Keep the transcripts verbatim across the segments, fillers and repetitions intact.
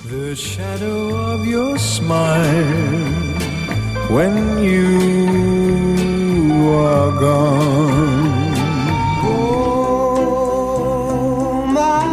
The shadow of your smile when you are gone. Oh, my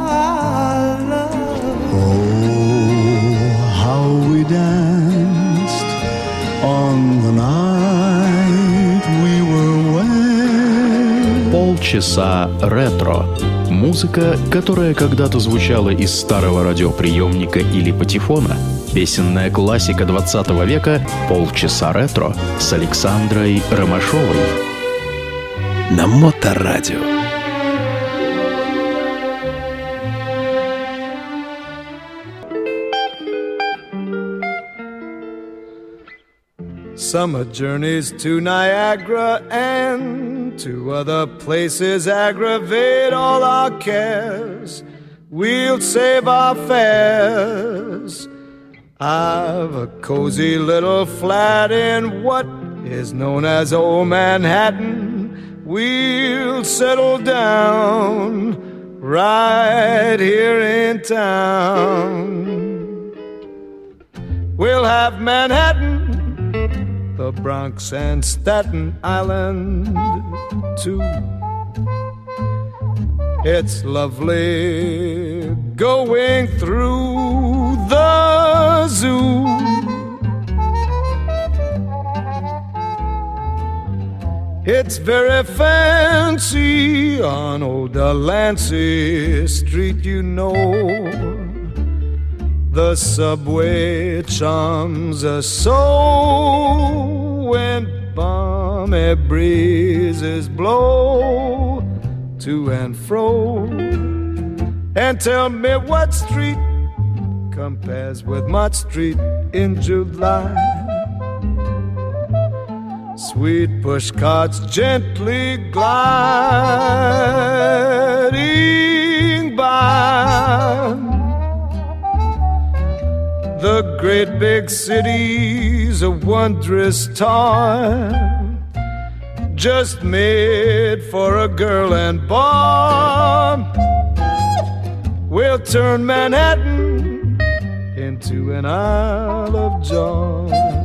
love. Oh, how we danced on the night we were wed. Полчаса ретро. Музыка, которая когда-то звучала из старого радиоприемника или патефона. Песенная классика двадцатого века «Полчаса ретро» с Александрой Ромашовой. На Моторадио. Summer journeys to Niagara and to other places aggravate all our cares. We'll save our fares. I've a cozy little flat in what is known as Old Manhattan. We'll settle down right here in town. We'll have Manhattan, the Bronx and Staten Island too. It's lovely going through the zoo. It's very fancy on old Delancey Street, you know. The subway charms us so when balmy breezes blow to and fro. And tell me what street compares with Mott Street in July. Sweet push carts gently gliding by. The great big city's a wondrous toy, just made for a girl and boy. We'll turn Manhattan into an Isle of Joy.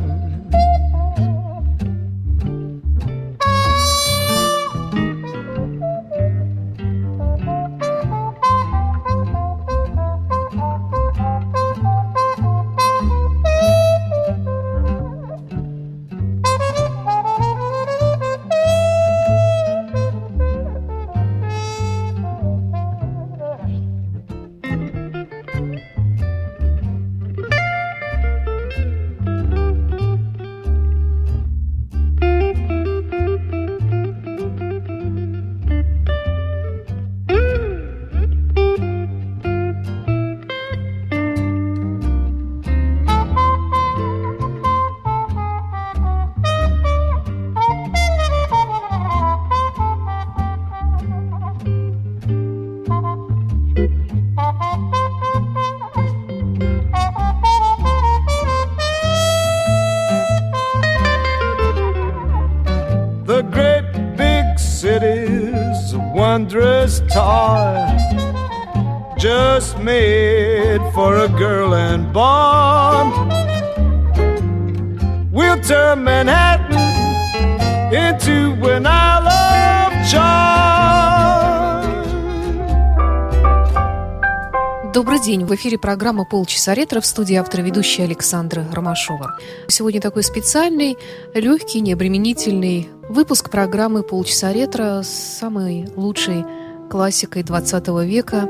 Wondrous toy, just made for a girl and boy. We'll turn Manhattan into an Isle of Joy. Добрый день, в эфире программа «Полчаса ретро», в студии автор и ведущая Александра Ромашова. Сегодня такой специальный, легкий, необременительный выпуск программы «Полчаса ретро» с самой лучшей классикой двадцатого века.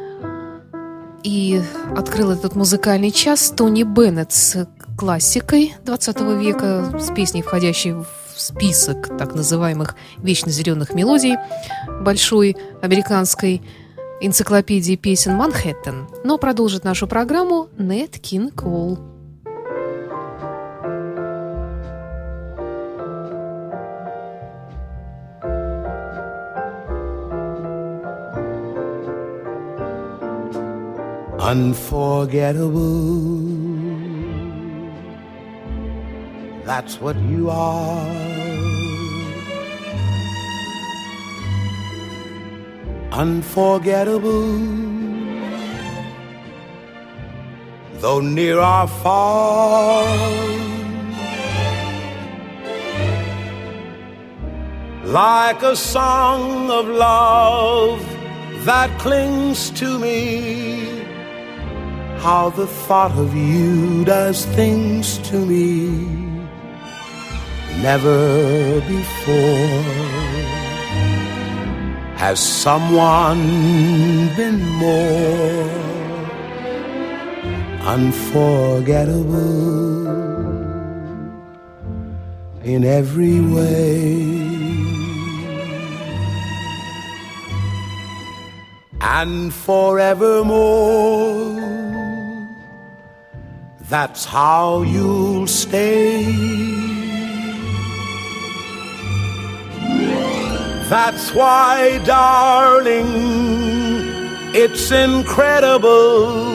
И открыл этот музыкальный час Тони Беннет с классикой двадцатого века, с песней, входящей в список так называемых вечно зеленых мелодий большой американской энциклопедии песен «Манхэттен». Но продолжит нашу программу Нэт Кинг Коул. Unforgettable, that's what you are. Unforgettable, though near or far. Like a song of love that clings to me, how the thought of you does things to me never before has someone been more unforgettable in every way. And forevermore, that's how you'll stay. That's why, darling, it's incredible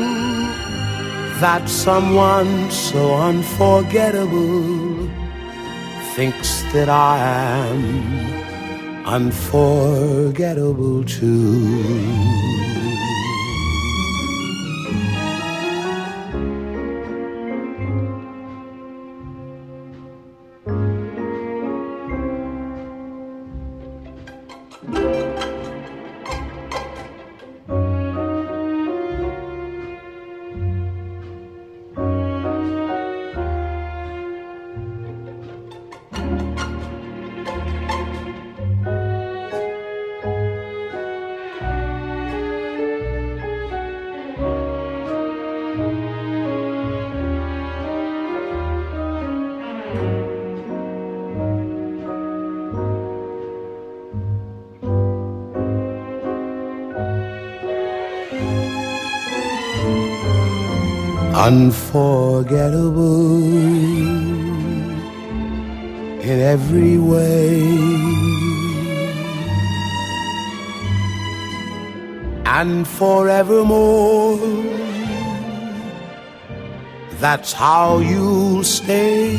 that someone so unforgettable thinks that I am unforgettable too. Unforgettable in every way, and forevermore, that's how you'll stay.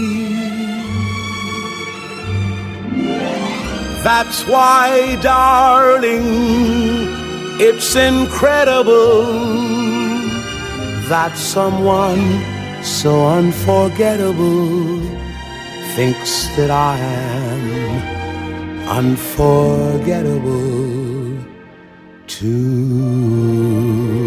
That's why, darling, it's incredible that someone so unforgettable thinks that I am unforgettable too.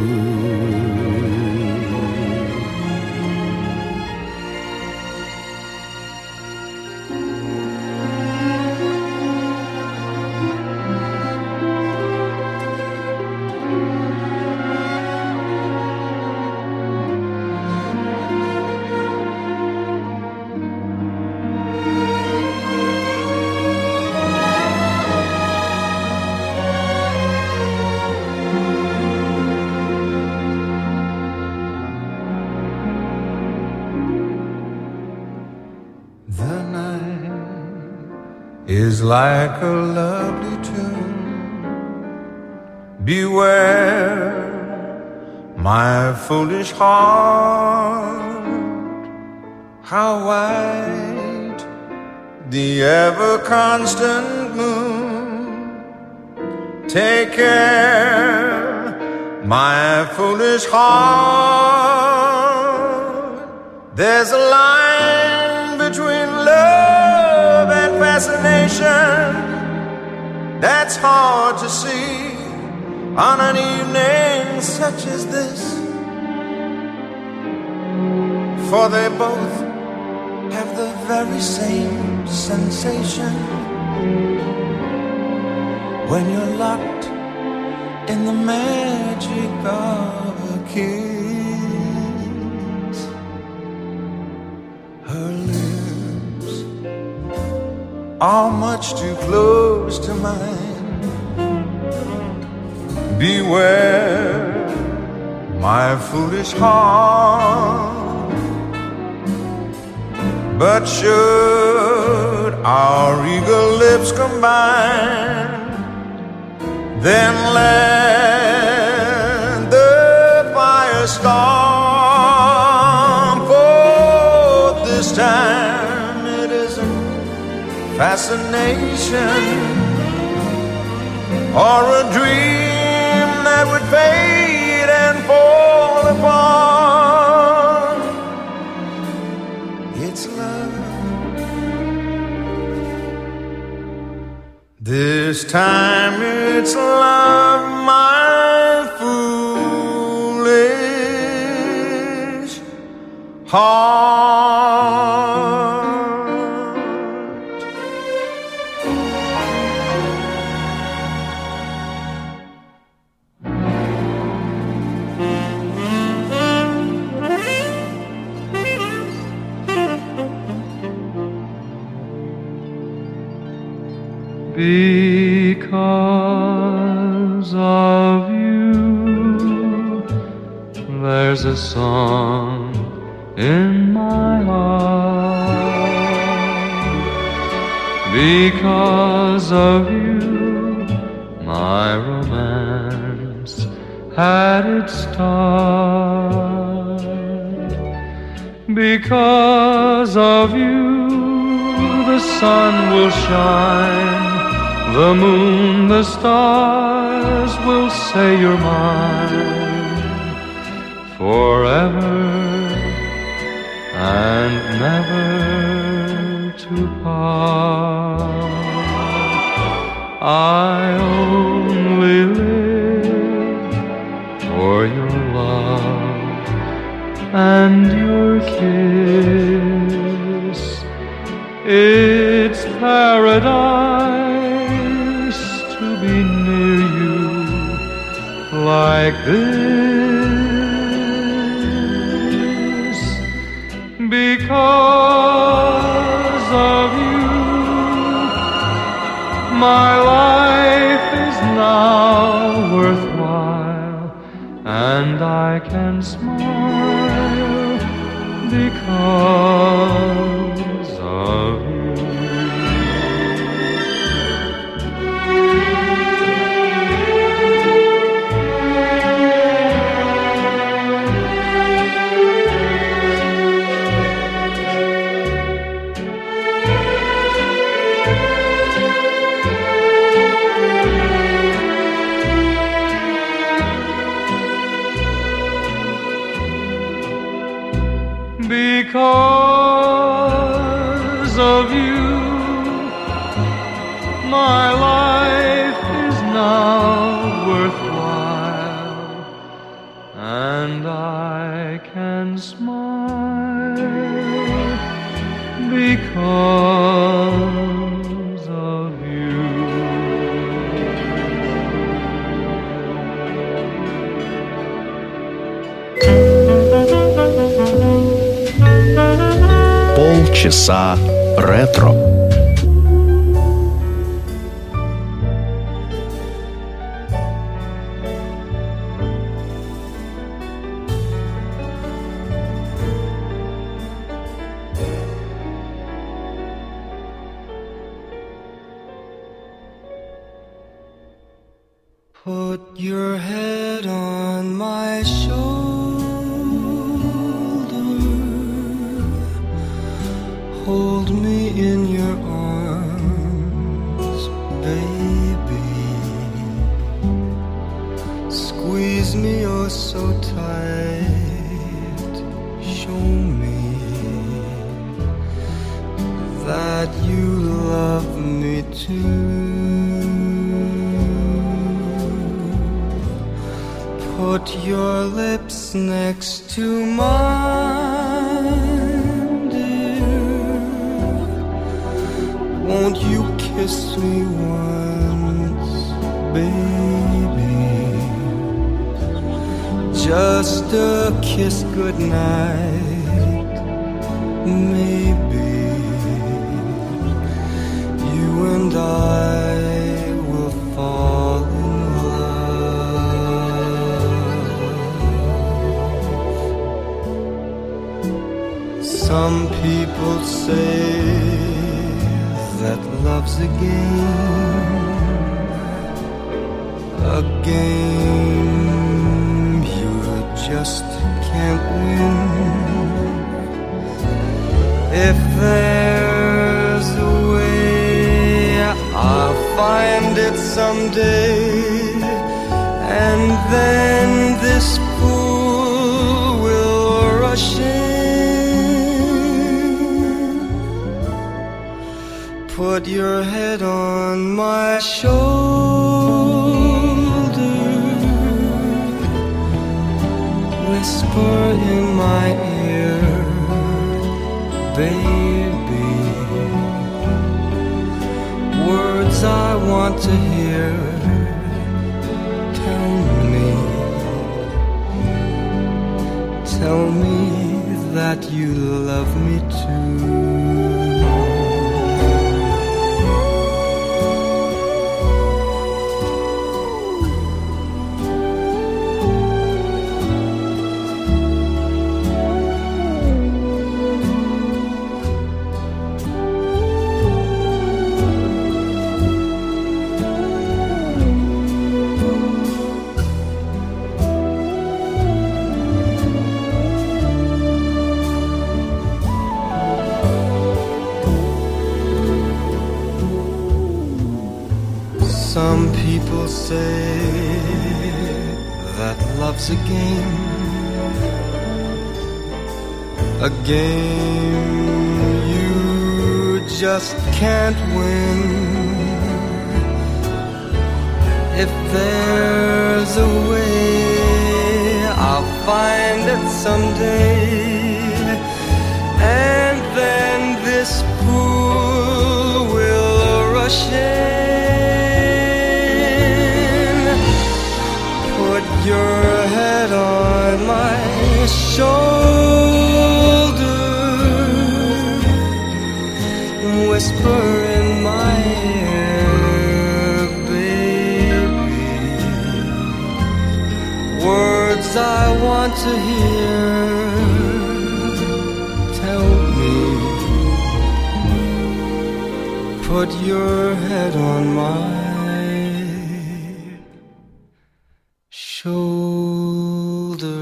Is like a lovely tune. Beware, my foolish heart, how white the ever-constant moon. Take care, my foolish heart. There's a line between love and fascination that's hard to see on an evening such as this, for they both have the very same sensation when you're locked in the magic of a kiss. Her lips are much too close to mine. Beware, my foolish heart. But should our eager lips combine, then let the fire storm. For this time it isn't fascination or a dream that would fade and fall apart. time it's love, my foolish heart. Because of you, there's a song in my heart. Because of you, my romance had its start. Because of you, the sun will shine, the moon, the stars will say you're mine forever and never to part. I only live for your love and your kiss. It's paradise to be near you like this. Because of you, my life is now worthwhile, and I can smile because of you. Because of you, my life is now worthwhile, and I can smile because of you. Полчаса ретро. Put your head on my shoulder, hold me in your arms, baby. Squeeze me oh so tight. Show me that you love me too. Put your lips next to mine, dear. Won't you kiss me once, baby? Just a kiss goodnight, maybe. You and I will fall in love. Some people say that love's a game, a game you just can't win. If there's a way, I'll find it someday, and then this pool will rush in. Put your head on on my shoulder, whisper in my ear, baby, words I want to hear. Tell me, tell me that you love me too. Some people say that love's a game, a game you just can't win. If there's a way, I'll find it someday, and then this fool will rush in. Put your head on my shoulder, whisper in my ear, baby, words I want to hear. Tell me, put your head on my shoulder.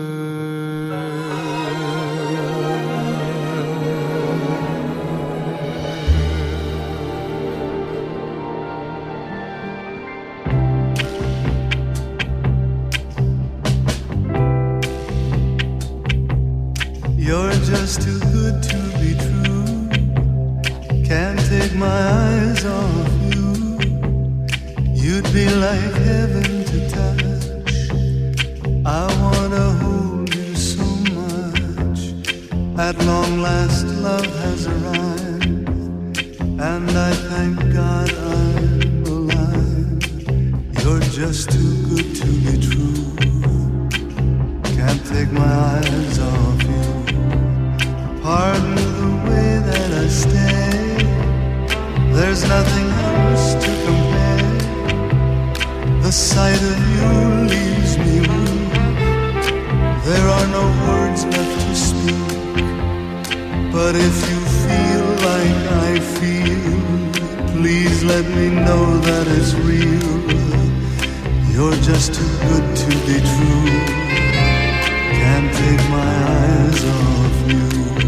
You're just too good to be true. Can't take my eyes off you. You'd be like heaven to touch. I wanna hold you so much. At long last love has arrived, and I thank God I'm alive. You're just too good to be true. Can't take my eyes off you. Pardon the way that I stay. There's nothing else to compare. The sight of you leaves me weak. There are no words left to speak. But if you feel like I feel, please let me know that it's real. You're just too good to be true. Can't take my eyes off you.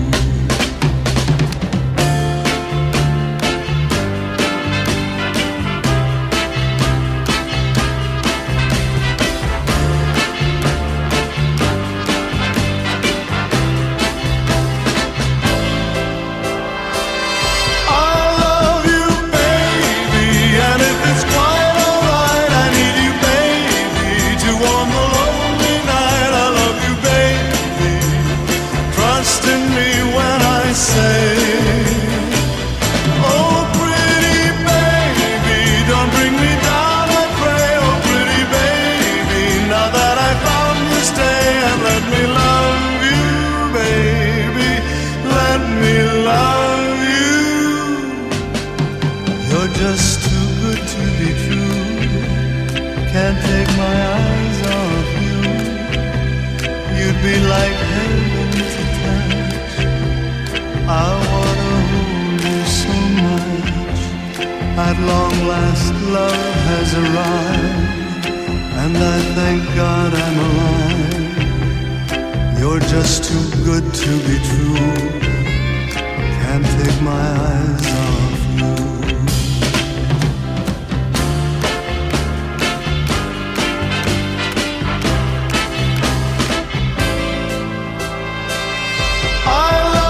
Just too good to be true. Can't take my eyes off you. You'd be like heaven to touch. I wanna hold you so much. At long last love has arrived, and I thank God I'm alive. You're just too good to be true. Can't take my eyes off you.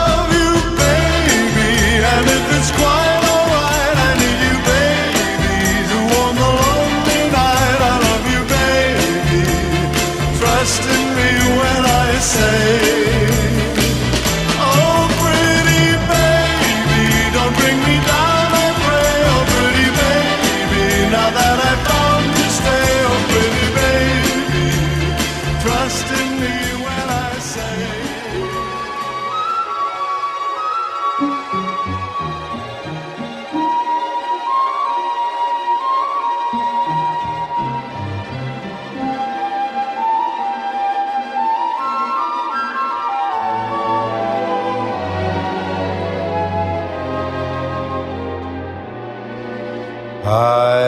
It's quite alright, I need you, baby.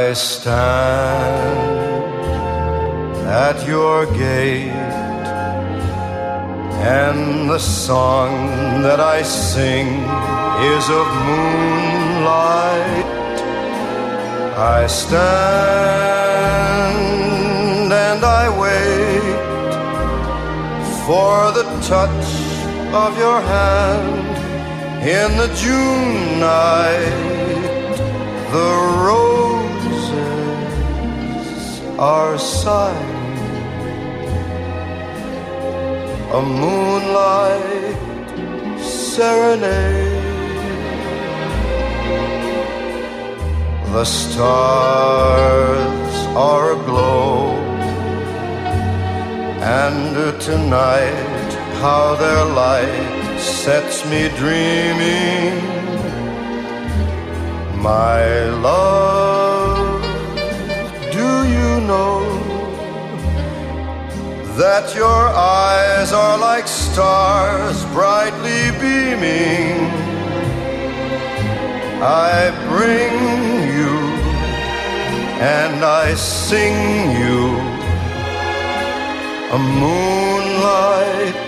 I stand at your gate, and the song that I sing is of moonlight. I stand and I wait for the touch of your hand in the June night. The roses are sighing, a moonlight serenade. The stars are aglow, and tonight how their light sets me dreaming. My love, do you know that your eyes are like stars brightly beaming? I bring you and I sing you a moonlight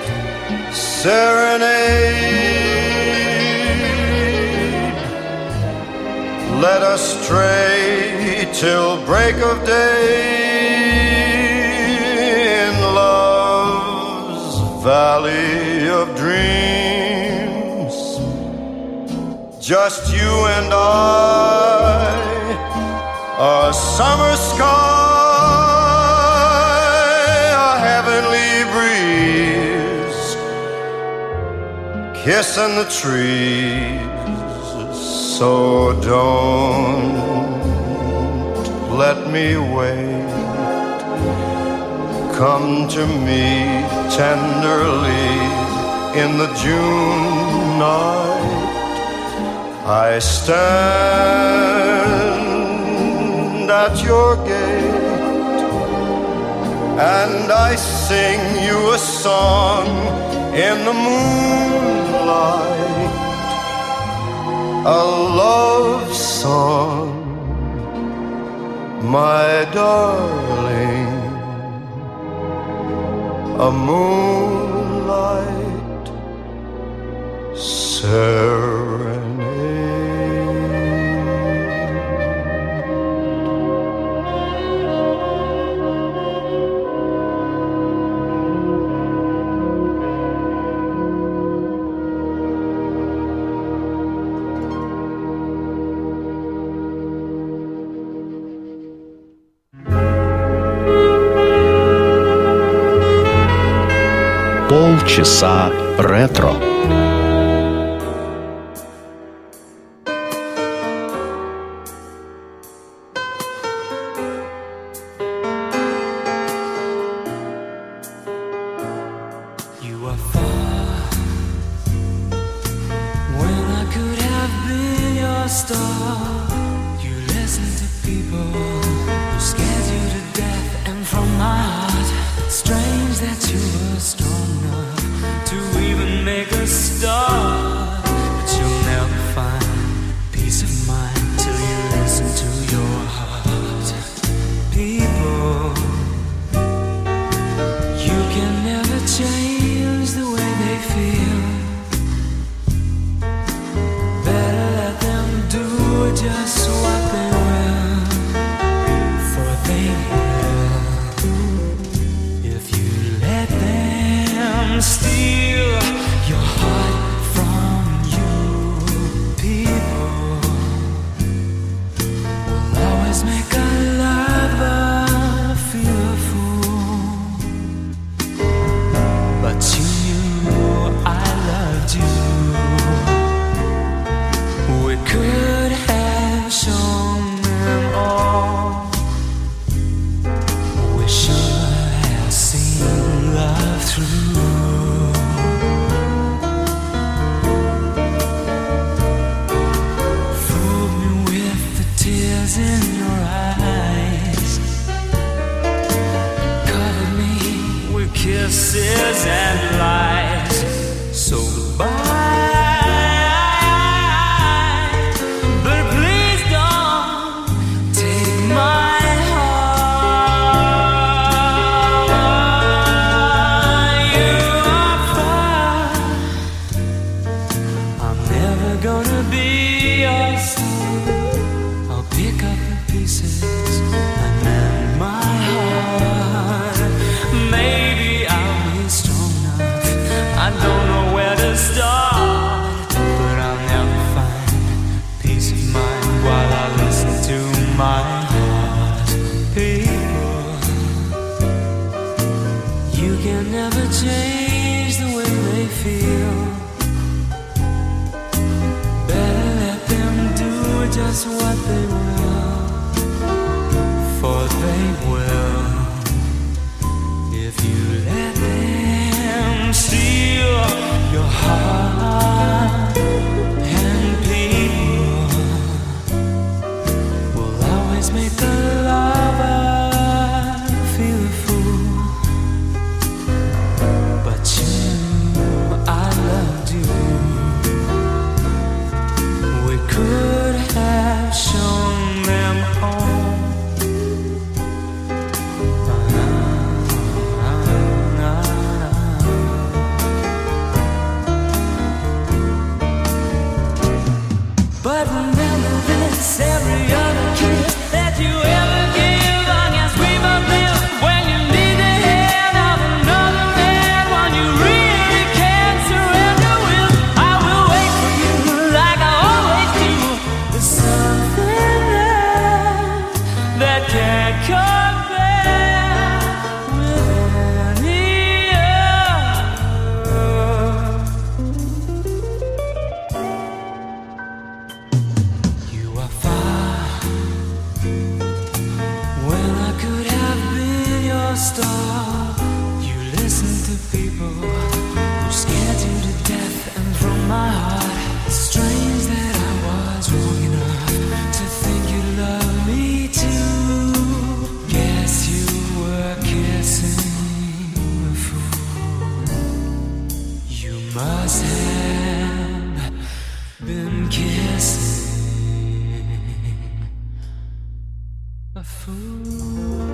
serenade. Let us stray till break of day in love's valley of dreams. Just you and I, a summer sky, a heavenly breeze, kissing the trees. So don't let me wait. Come to me tenderly in the June night. I stand at your gate, and I sing you a song in the moonlight, a love song, my darling, a moonlight serenade. Полчаса ретро. Through just what they will, for they will, if you let them steal your heart. And people will always make the lover feel a fool, but you, I loved you. We could have shown them home. But remember this, every other kiss that you ever give, I guess we both live when you need the hand of another man, when you really can't surrender with. I will wait for you like I always do. There's something there that can't compare with any other. You are far when I could have been your star. You listen to people who scared you to death, and from my heart, it's strange that I was wrong enough to think you love me too. Guess you were kissing a fool. You must have been kissing a fool.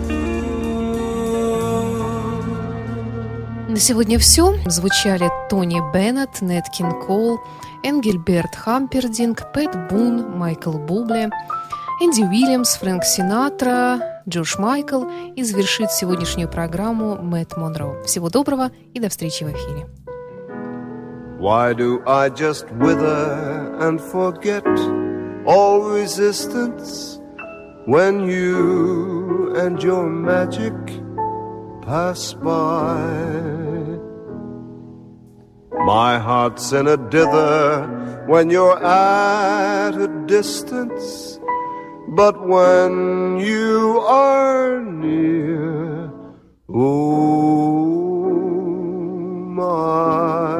На сегодня все. Звучали Тони Беннет, Нэт Кинг Кол, Энгельберт Хампердинг, Пэт Бун, Майкл Бубле, Энди Уильямс, Фрэнк Синатра, Джордж Майкл, и завершит сегодняшнюю программу Мэтт Монро. Всего доброго и до встречи в эфире. Why do I just wither and forget all resistance when you and your magic pass by? My heart's in a dither when you're at a distance, but when you are near, oh my,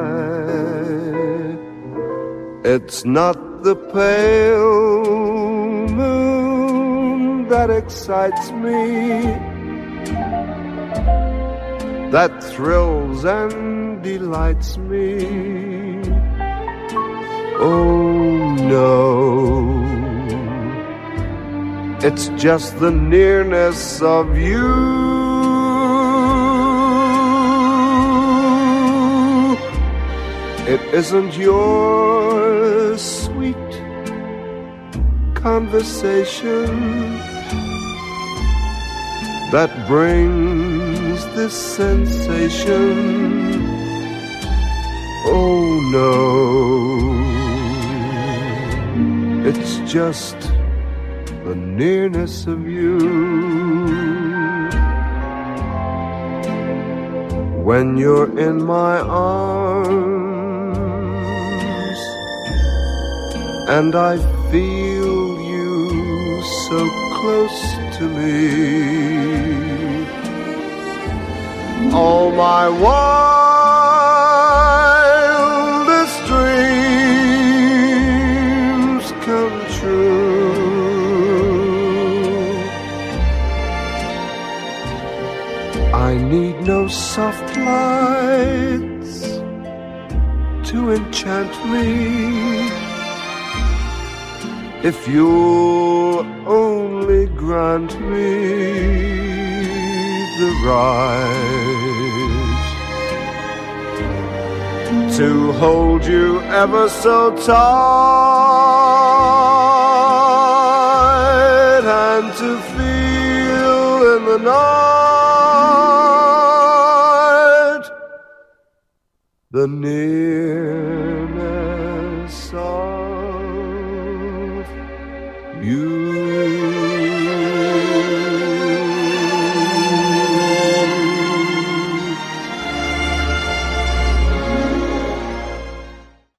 it's not the pale moon that excites me, that thrills and delights me. Oh no, it's just the nearness of you. It isn't your sweet conversation that brings this sensation. Oh no, it's just the nearness of you. When you're in my arms and I feel you so close to me, all my wildest dreams come true. I need no soft lights to enchant me, if you'll only grant me the right to hold you ever so tight and to feel in the night the nearness of